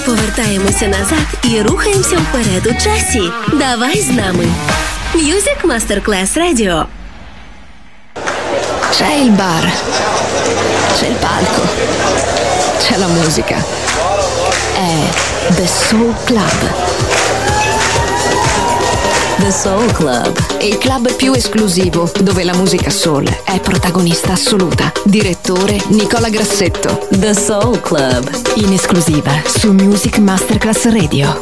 повертаємося назад і рухаємося вперед у часі. Давай з нами. Music Masterclass Radio. C'è il bar, c'è il palco, c'è la musica. È The Soul Club. The Soul Club. Il club più esclusivo dove la musica soul è protagonista assoluta. Direttore Nicola Grassetto. The Soul Club. In esclusiva su Music Masterclass Radio.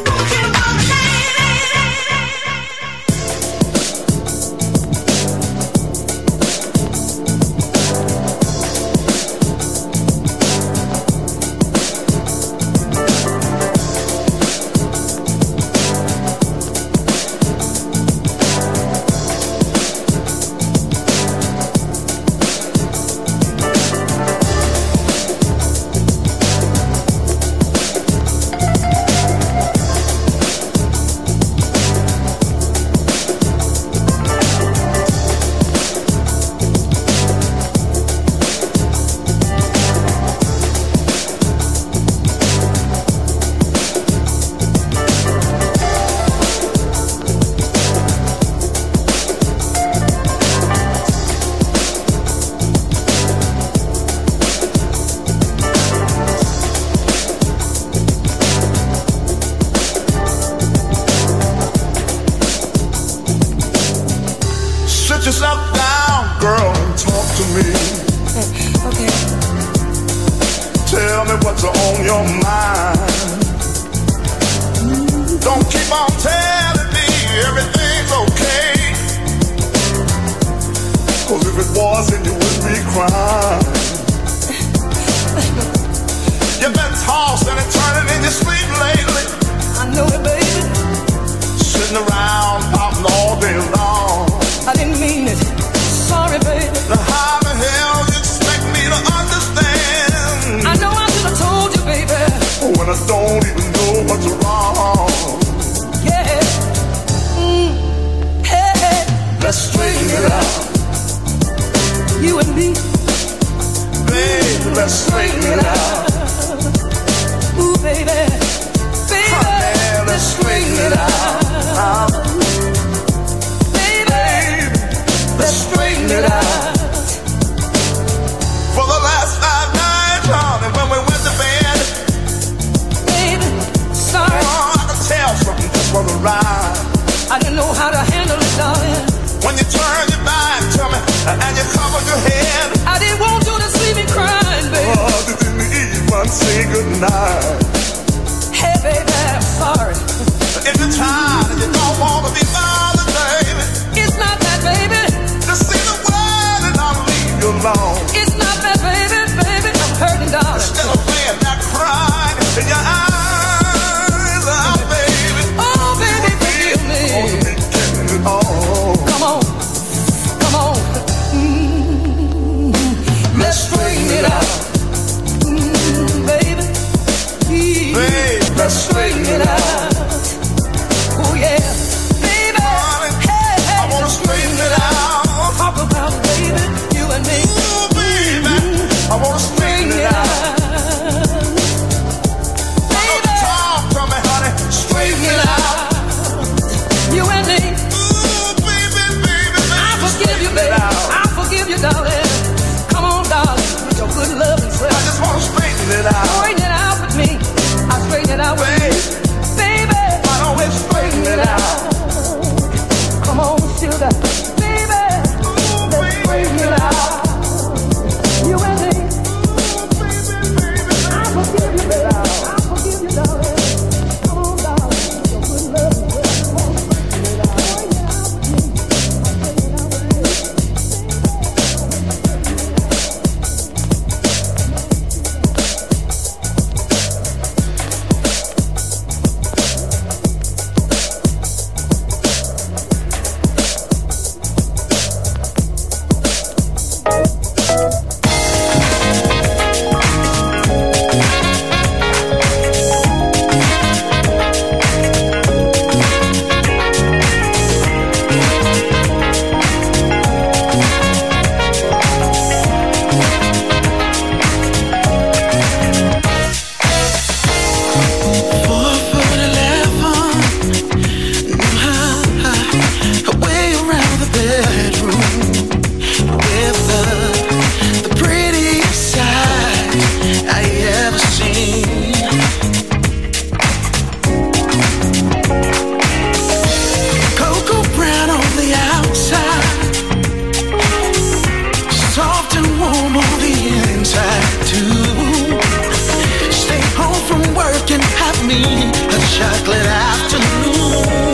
me a chocolate afternoon.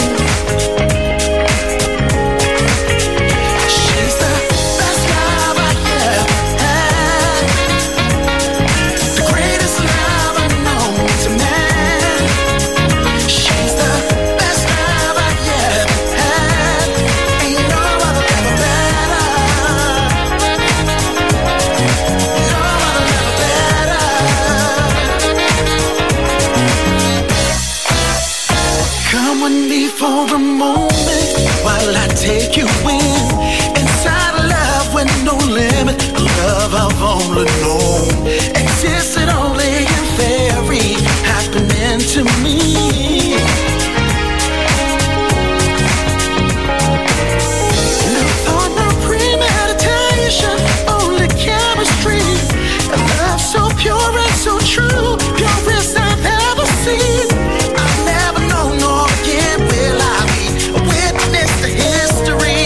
She's the best love I ever had, the greatest love I've known to man. She's the best love I ever had, ain't no other ever better. No other ever better. Come with me for a moment while I take you in, inside a love with no limit, a love I've only known existed only in fairy happening to me. No thought, no premeditation, only chemistry, a love so pure and so true, purest I've ever seen. I've never known nor again will I be a witness to history,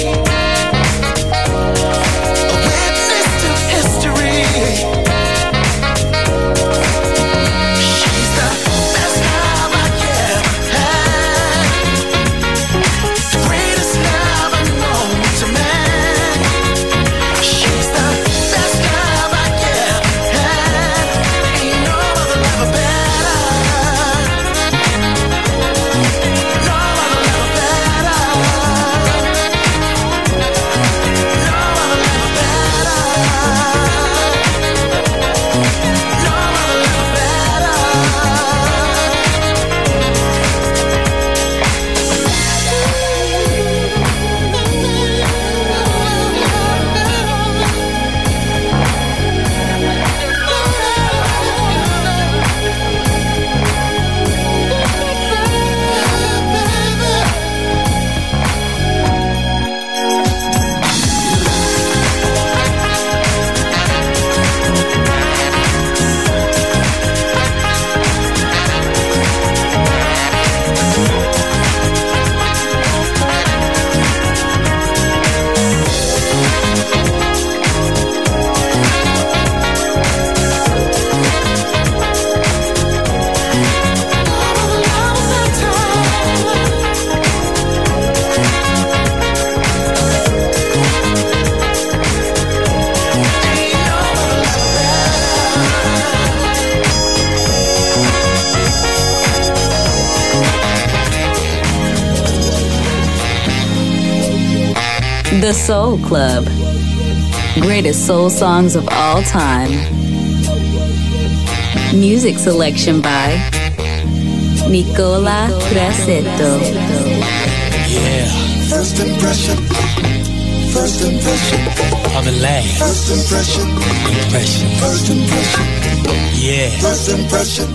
a witness to history. She's the best love I ever had, the greatest love I've known to man. She's the best love I ever had, ain't no other love better. No other love better. No other love better. No other love better. The Soul Club. Greatest soul songs of all time. Music selection by Nicola Grassetto. Yeah. First impression. First impression. Of the last. First impression. Impression. First impression. Yeah. First impression.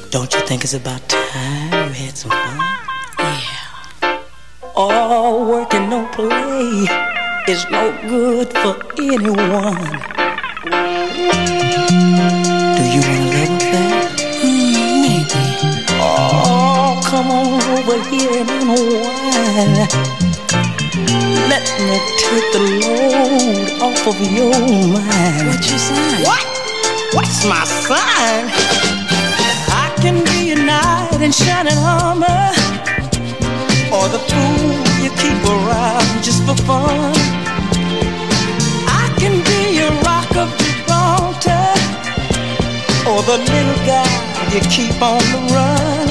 Don't you think it's about time we had some fun? Yeah. All work and no play is no good for anyone. Do you want a love affair? Maybe. Oh, come on over here and unwind. Let me take the load off of your mind. What's your sign? What? What's my sign? I can be a knight in shining armor, or the fool you keep around just for fun. I can be a rock of Gibraltar, or the little guy you keep on the run.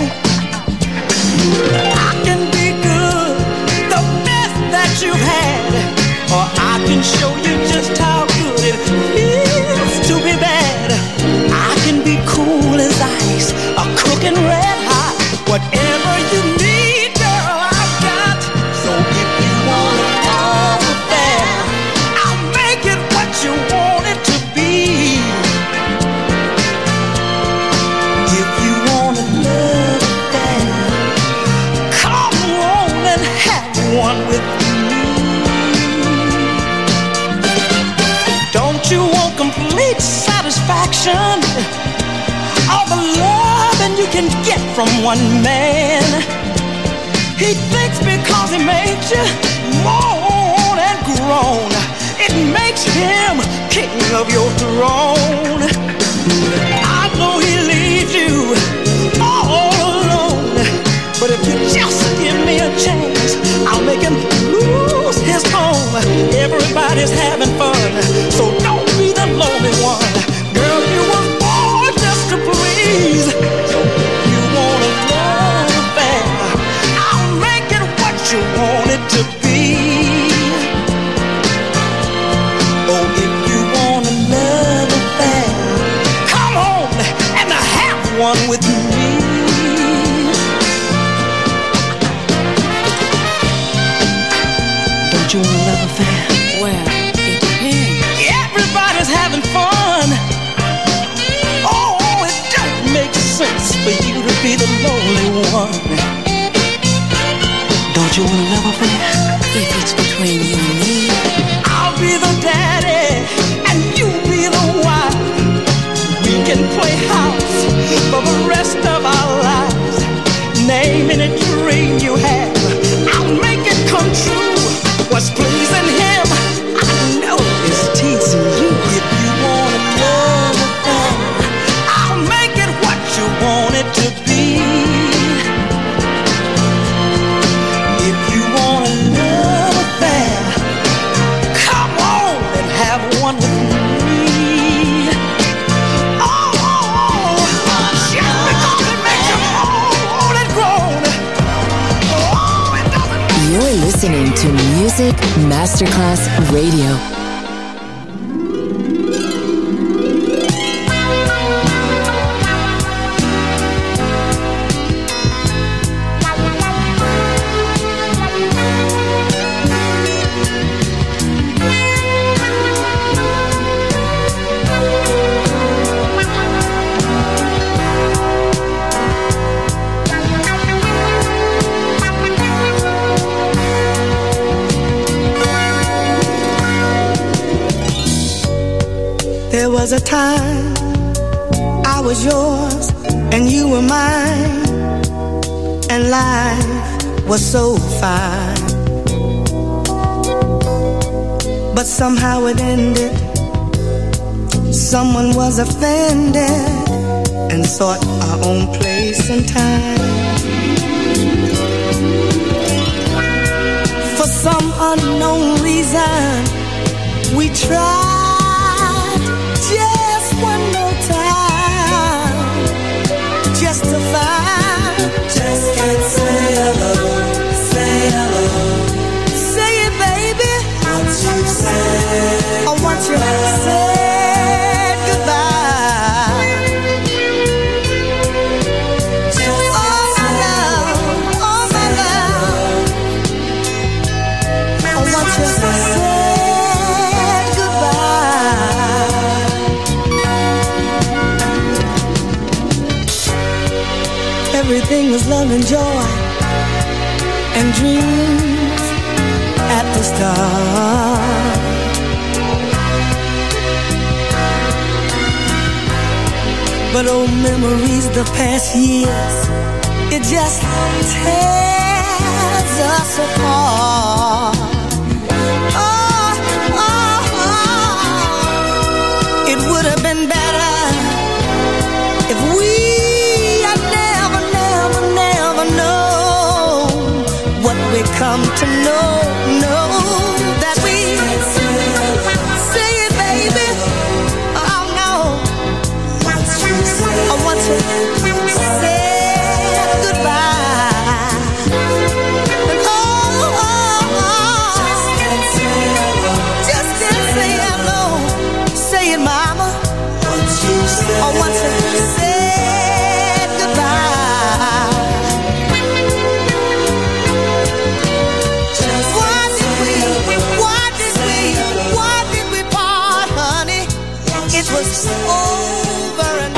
I can be good, the best that you've had, or I can show you just how good it feels to be bad. I can be cool as ice, a cooking red hot, whatever you need, girl, I've got. So if you want a love affair, I'll make it what you want it to be. If you want a love affair, come on and have one with me. Don't you want complete satisfaction? All the loving you can get from one man. He thinks because he made you moan and groan, it makes him king of your throne. I know he leaves you all alone, but if you just give me a chance, I'll make him lose his home. Everybody's having fun, so don't be the lonely one. Girl, you were born just to please. So if you want a love affair, I'll make it what you want it to be. Oh, if you want a love affair, come on and have one with me. Don't you want a love affair? Well, it depends. Everybody's having fun. Oh, it don't make sense for you to be the lonely one. Don't you want a love affair? If it's between you and me, I'll be the daddy and you be the wife. We can play house for the rest of our lives. Name any dream you have, I'll make it come true. What's pleasing him, I know is teasing you. If you want a love affair, I'll make it what you want it to be. If you want a love affair, come on and have one with me. Oh, just because it makes you moan and groan. Oh, it doesn't. You're listening to Music Masterclass Radio. There was a time I was yours and you were mine, and life was so fine. But somehow it ended. Someone was offended and sought our own place and time. For some unknown reason, we tried just one more time, just to find. Just can't say hello, say hello. Say it, baby. What you say? I want you to say goodbye. Just all my love, all my love. I want you to say goodbye. everything was love and joy and dreams at the start. But old memories, the past years, it just tears us apart. It would have been better if we had never, never, never known what we come to know. That we say it, baby. Oh no, I want to say goodbye. And just can't say hello. Say it, mama. I want to say goodbye. Why did we part, honey? It was over and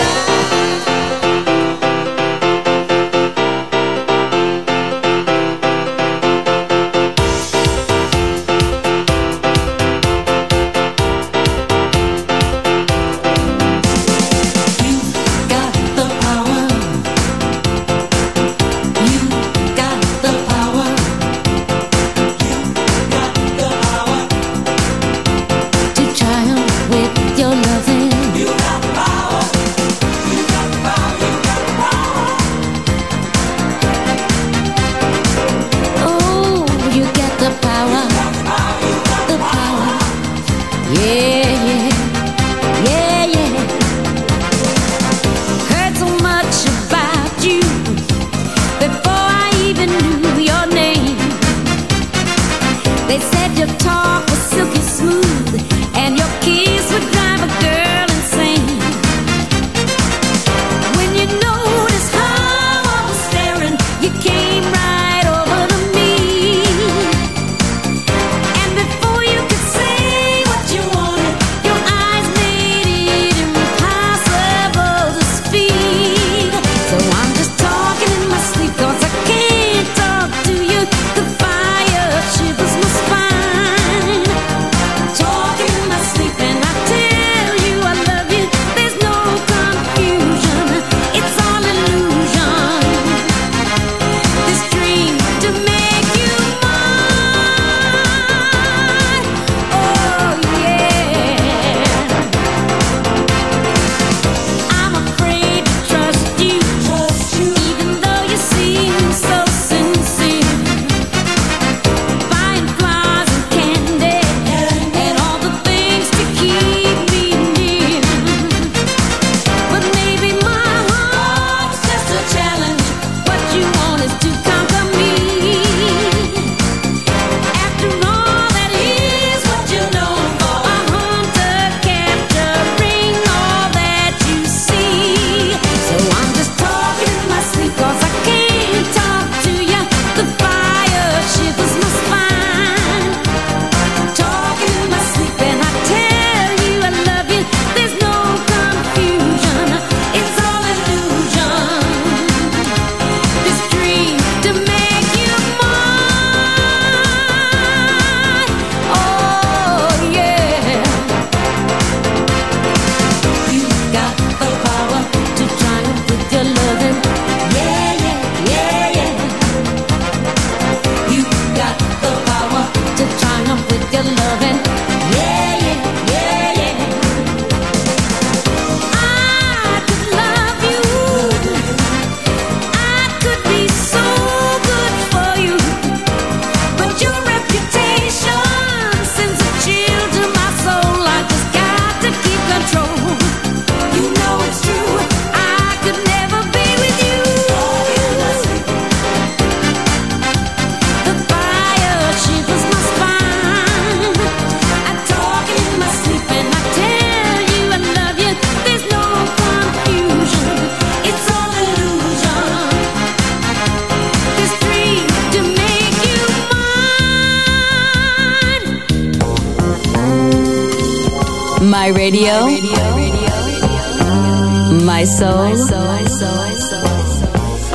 My radio, my soul,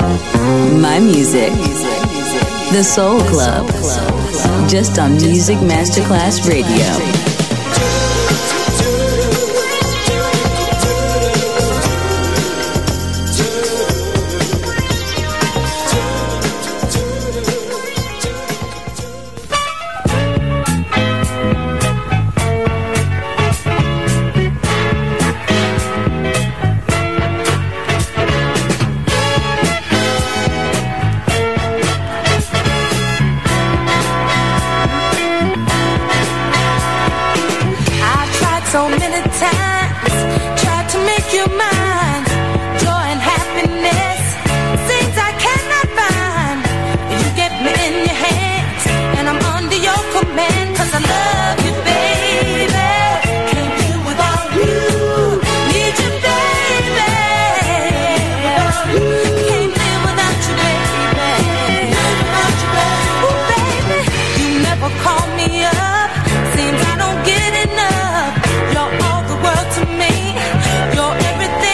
My music. The Soul Club. Just on Music Masterclass Radio. Seems I don't get enough. You're all the world to me. You're everything.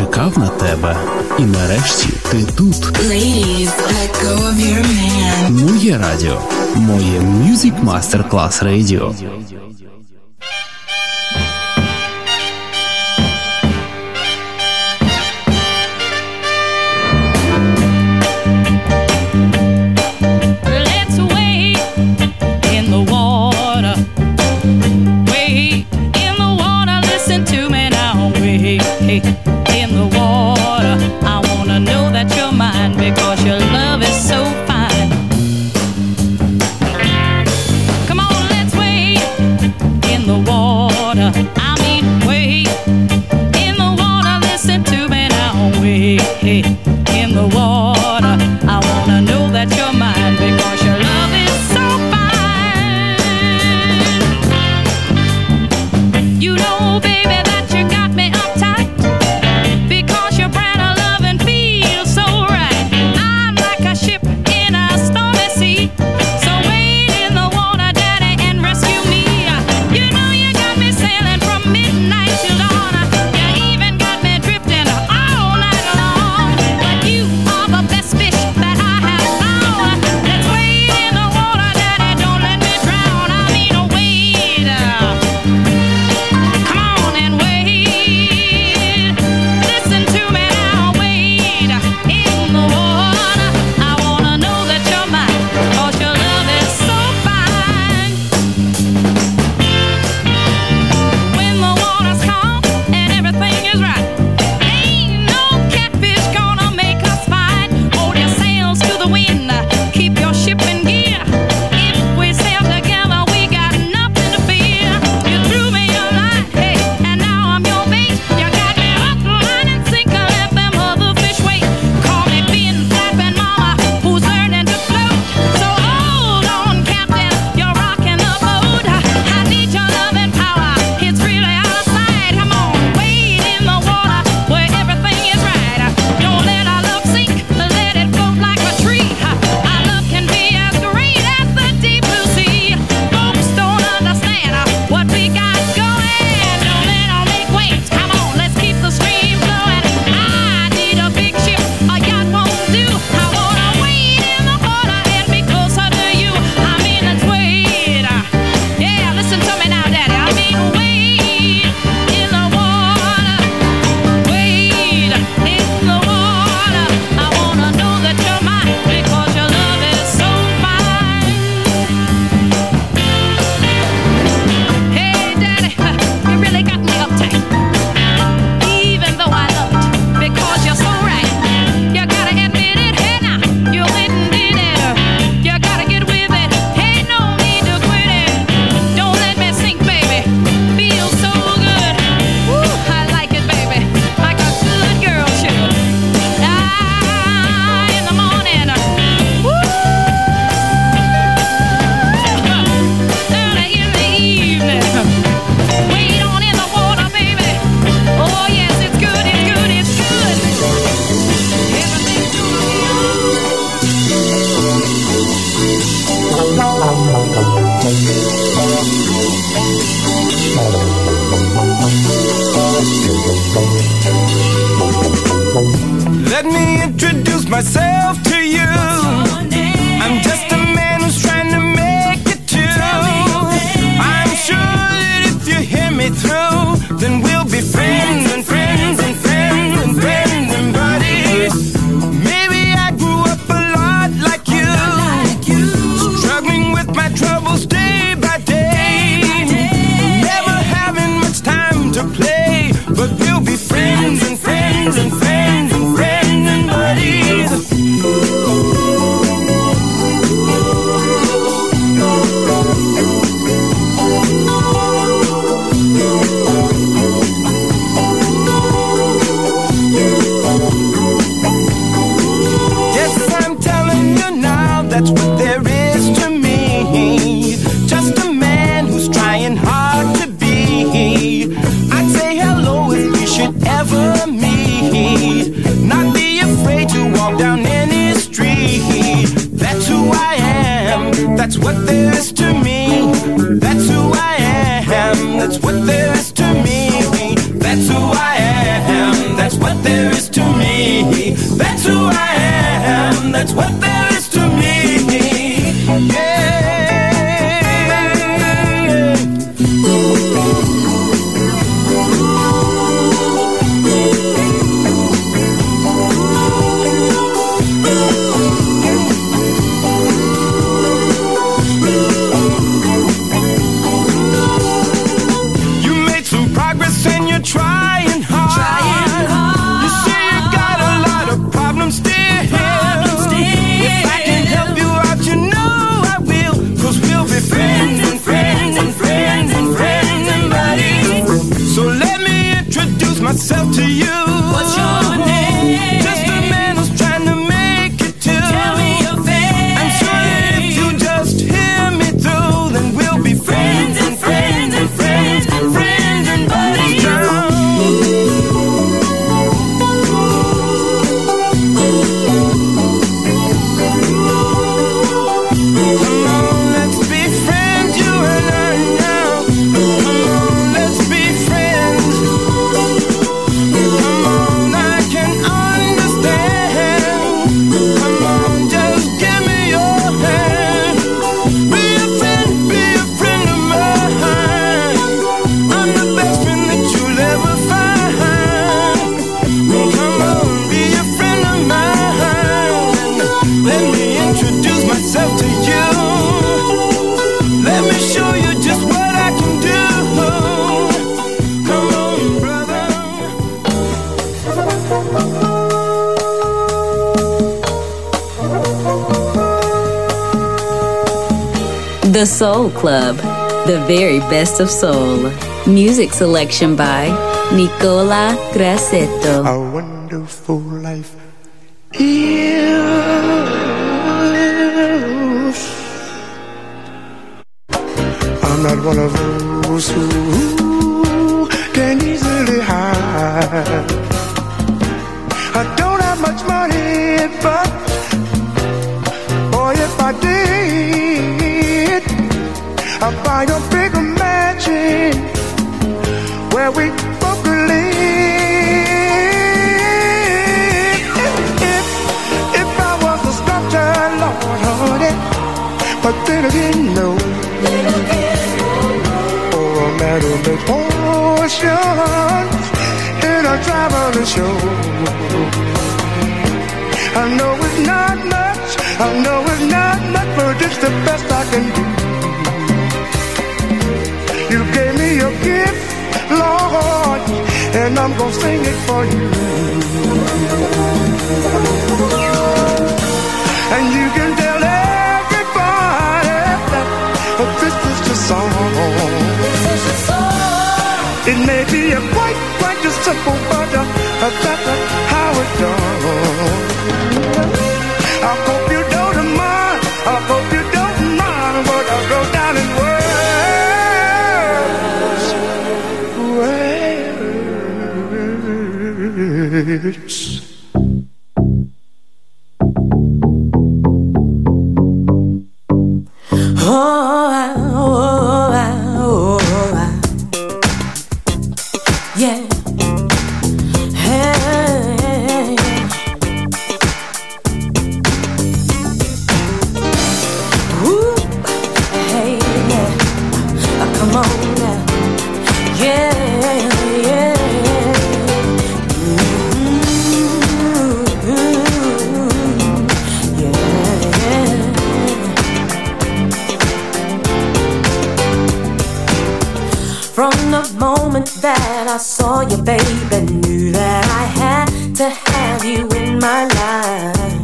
чекав на тебе. І нарешті ти тут. Ladies, let go of your man. Моє радіо. Моє Music Masterclass Radio. In the water, I wanna know that you're mine because your love is so fine. Come on, let's wade in the water. I mean, wade in the water. Listen to me now, wade in the water. I wanna know that you're mine because your love is so fine. You know, baby, that you got me uptight. Let me introduce myself to you. I'm just a man who's trying to make it too. I'm sure that if you hear me through, then we'll be friends and friends and friends and friends and buddies. Maybe I grew up a lot like you, struggling with my troubles day by day, never having much time to play, but we'll be friends and friends and friends and friends and buddies. Yes, I'm telling you now, that's what there is to me. Just a man who's trying hard to be. I'd say hello if we should ever meet. Not be afraid to walk down any street. That's who I am, that's what there is to me. That's who I am, that's what there is to me. That's who I am, that's what there there is to me. That's who I am. That's what there is to me. Yeah. Trying hard. You say you got a lot of problems still. If I can help you out, you know I will. 'Cause we'll be friends and friends and friends and friends and buddies. So let me introduce myself to you. What's your name? Just a man who's trying to make it too. Tell me your face. I'm sure that if you just hear me through, then we'll be friends and friends and friends and friends and buddies. The Soul Club, the very best of soul. Music selection by Nicola Grassetto. A wonderful life is. I'm not one of those who can easily hide. I don't have much money, but boy, if I did, I'd buy a bigger mansion where we both could live. If I was a sculptor, Lord, honey, but then again, no. Or a man who makes potions in a traveling show. I know it's not much, I know it's not much, but it's the best I can do. You gave me your gift, Lord, and I'm gonna sing it for you. And you can tell everybody that this is the song. It may be a quite a simple, but that's how it's done. I hope you don't mind, I hope you don't mind what I wrote down in words. Yeah. Hey. Ooh. Hey, yeah. Come on now. Yeah, yeah. From the moment that I saw you, baby, knew that I had to have you in my life.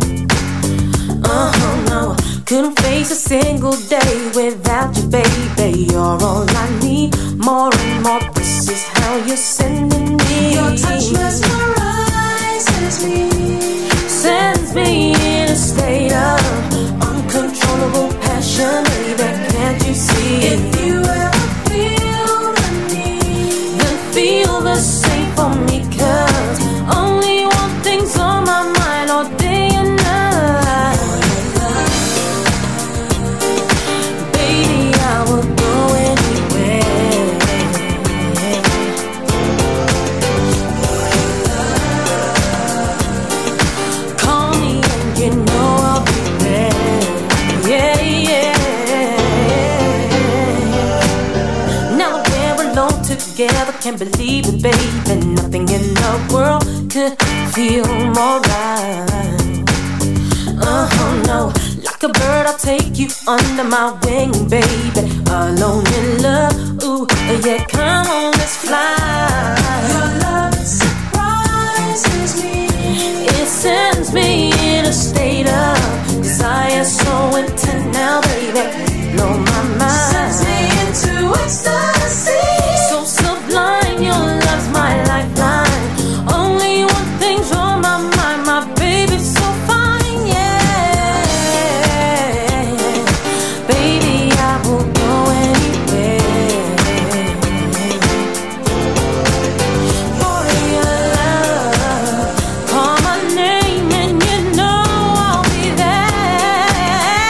No, couldn't face a single day without you, baby. You're all I need, more and more. This is how you're sending me. Your touch mesmerizes me, sends me in a state of uncontrollable passion, baby. Can't you see? If you ever feel the same for me, 'cause only one thing's on my mind all day and night. Baby, I will go anywhere. together, can't believe it, baby. Nothing in the world could feel more right. No, like a bird, I'll take you under my wing, baby. Alone in love, ooh, yeah, come on, let's fly. Your love surprises me. It sends me in a state of desire so intense now, baby. Blow my mind. Sends me into ecstasy. So sublime, your love's my lifeline. Only one thing's on my mind, my baby's so fine, yeah. Baby, I will go anywhere for your love. Call my name and you know I'll be there.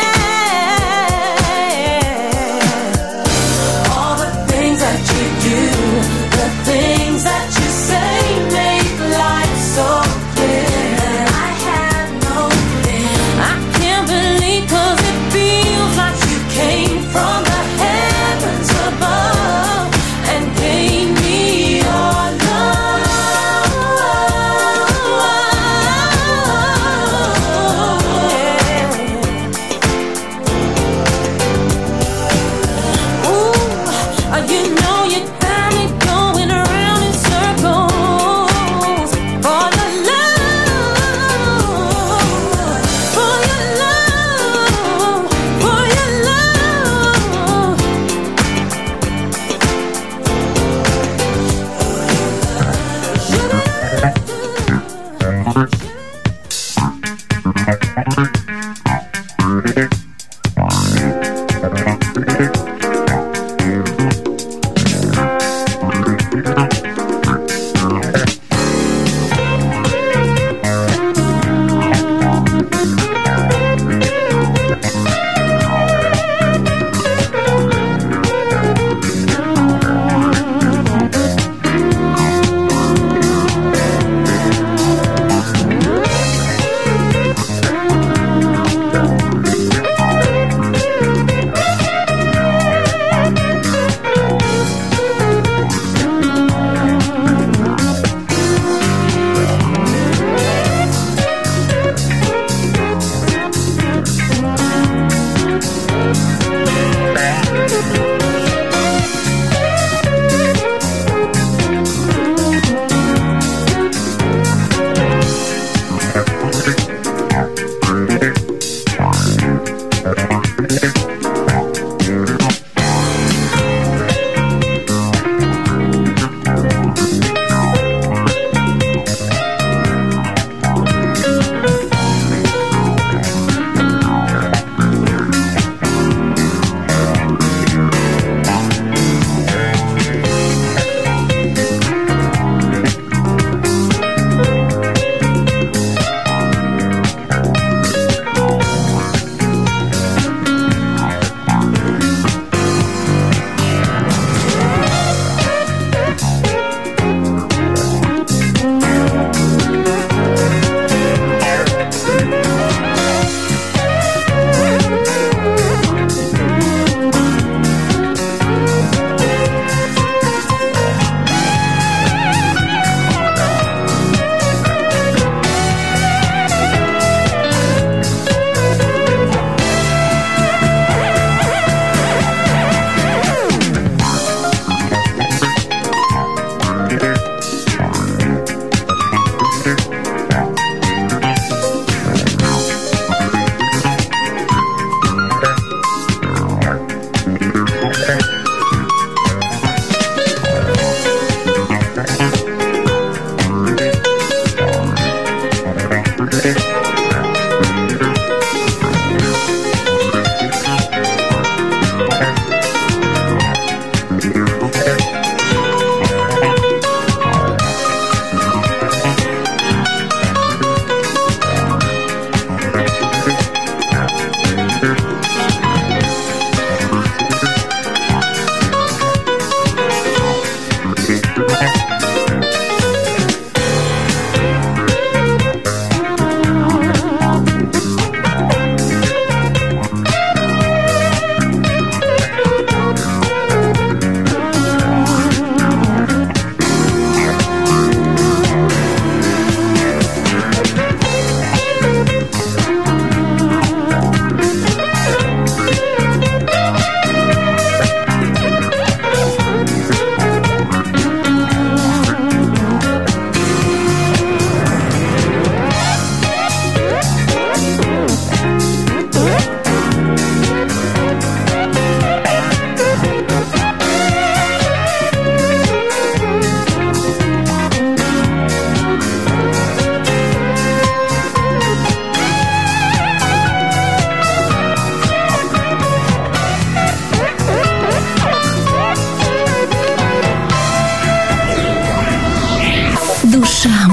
All the things that you do, the things that you say make life so clear. I have no fear. I can't believe 'cause it feels like you came from the heavens above and gave me your love. Ooh, you know you got me going around in circles for your love, for your love, for your love.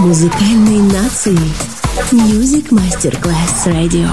Музыкальной нации. Music Masterclass Radio.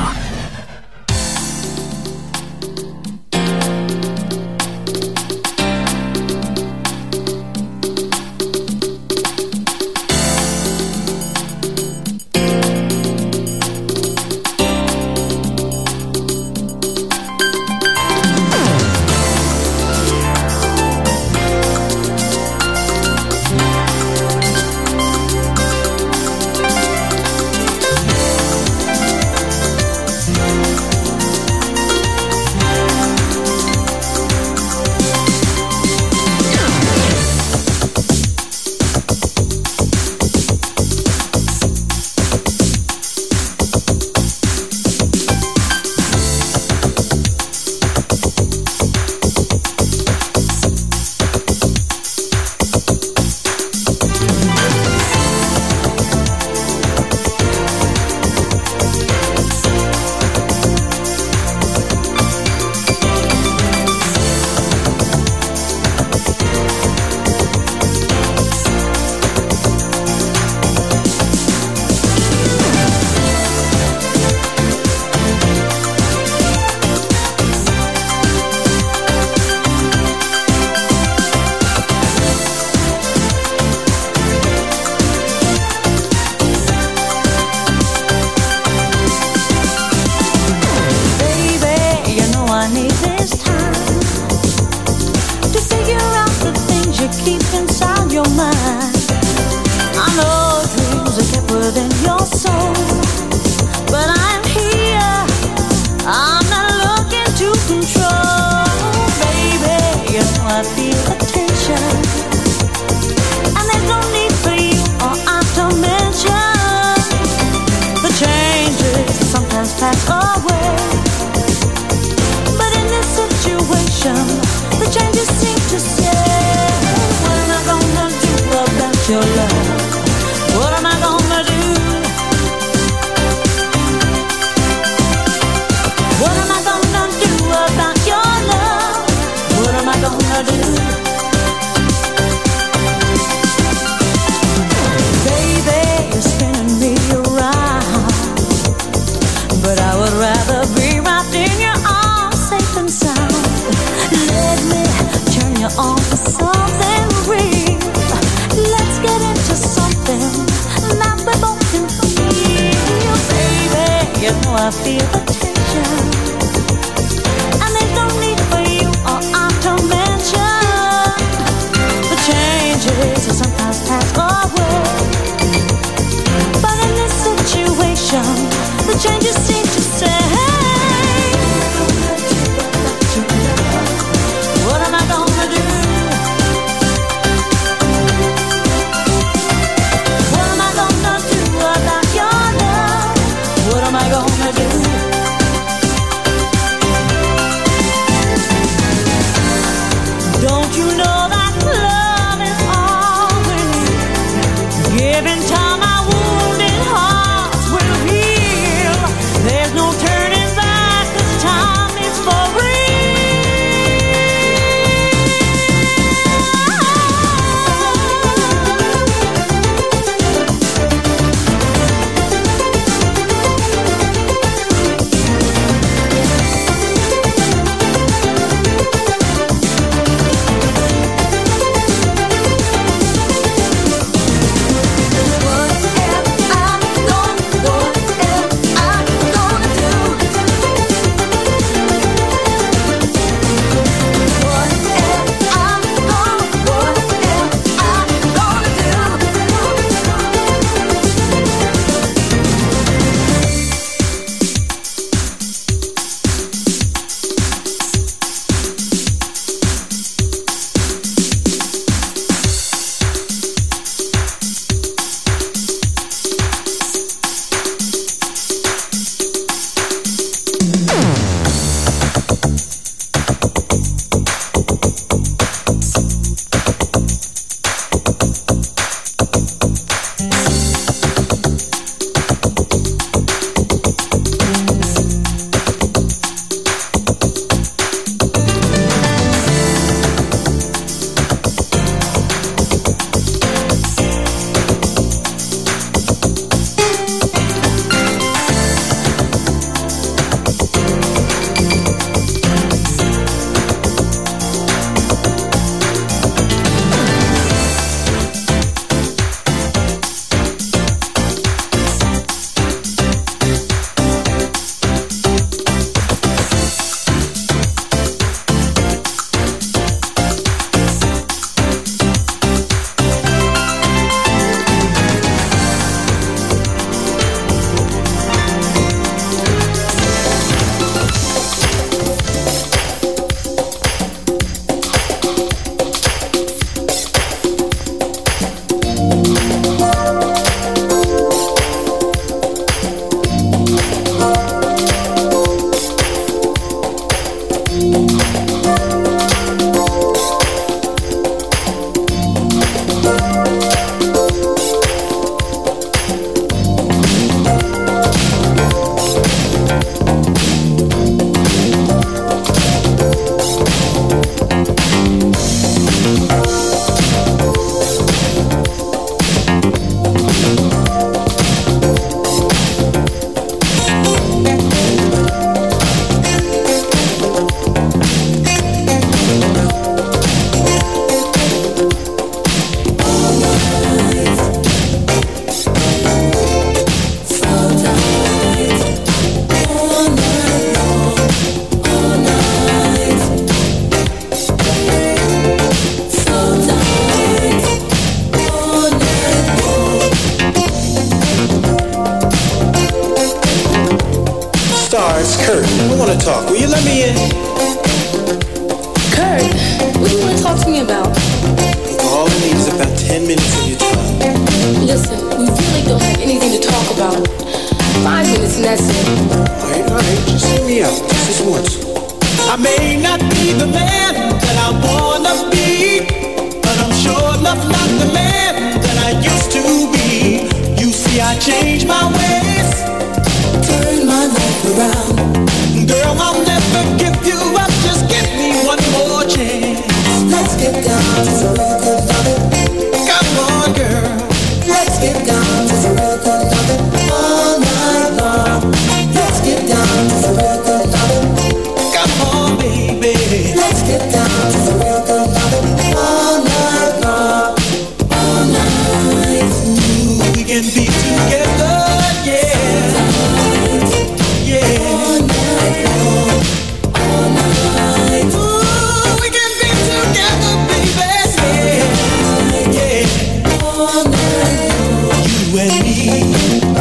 Car, it's Kurt. We want to talk. Will you let me in? Kurt, what do you want to talk to me about? All I need is about 10 minutes of your time. Listen, we really don't have anything to talk about. 5 minutes and that's it. All right. Just hear me out. Just this once. I may not be the man that I wanna be, but I'm sure enough not the man that I used to be. You see, I changed my ways, turn my life around. Girl, I'll never give you up. Just give me one more chance. Let's get down to some real good loving. Come on, girl. Let's get down to some real good loving all night long. Let's get down to some real good loving. Come on, baby. Let's get down to some real good loving all night long. All night. Ooh, we can be together, yeah. Yeah. All night long. All night. Ooh, we can be together, baby. Yeah. Yeah. All night long. You and me.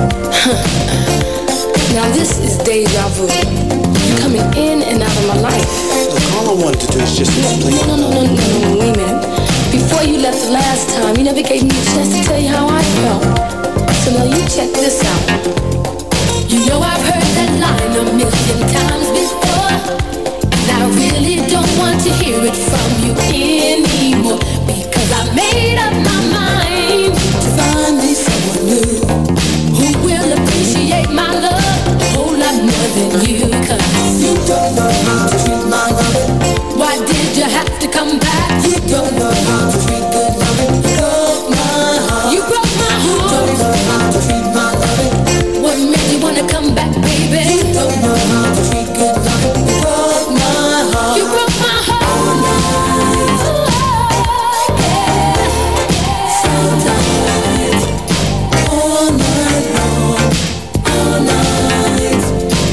Now this is deja vu. You're coming in and out of my life. Look, all I wanted to do is just explain. No, wait a minute. Before you left the last time, you never gave me a chance to tell you how I felt. So now you check this out. You know I've heard that line a million times before, and I really don't want to hear it from you anymore, because I made up my mind to find me someone new who will appreciate my love a whole lot more than you. Cause you don't know how to treat my love. Why did you have to come back? You don't know how to treat good loving. You broke my heart. You broke my heart. You don't know how to treat my loving. What made you wanna come back, baby? You don't know how to treat good loving. You broke my heart. You broke my heart. All night. Oh, yeah. Sometimes. All night long. All night.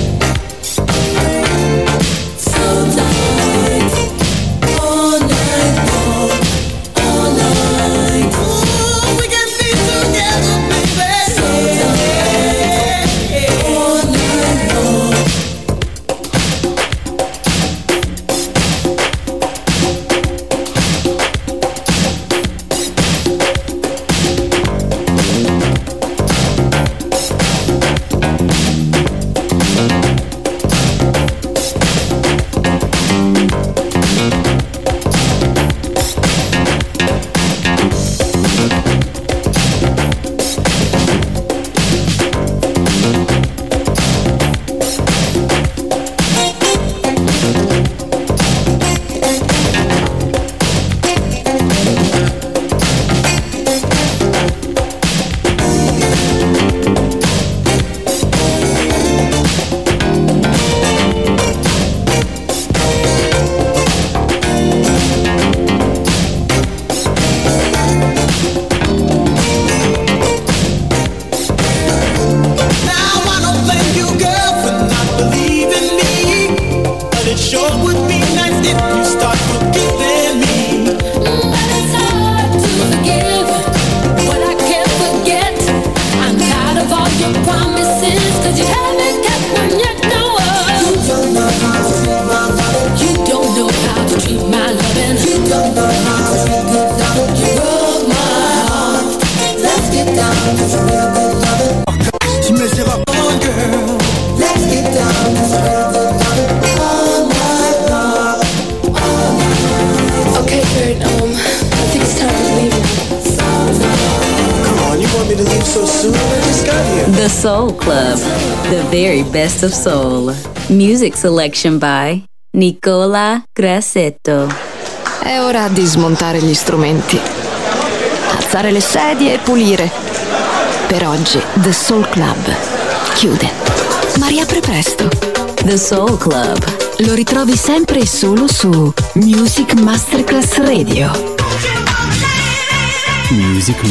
Sometimes. All night long. All night. Ooh, we can be together, baby. Sometimes. All night long. Now I don't blame you, girl, for not believing me, but it sure would be nice if you start forgiving me. But it's hard to forgive what I can't forget. I'm tired of all your promises, cause you haven't kept one yet, no. You don't know how to treat my loving. You don't know how to treat my loving. You don't know how to treat good loving. You broke my heart. Let's get down to some real good loving. She messed up on girl. Let's get down to some real good loving all night long. All night. Okay, Kurt, I think it's time to leave now. Come on, you want me to leave so soon? I just got here. The Soul Club, the very best of soul. Music selection by Nicola Grassetto. È ora di smontare gli strumenti, alzare le sedie e pulire. Per oggi The Soul Club chiude, ma riapre presto. The Soul Club. Lo ritrovi sempre e solo su Music Masterclass Radio. Music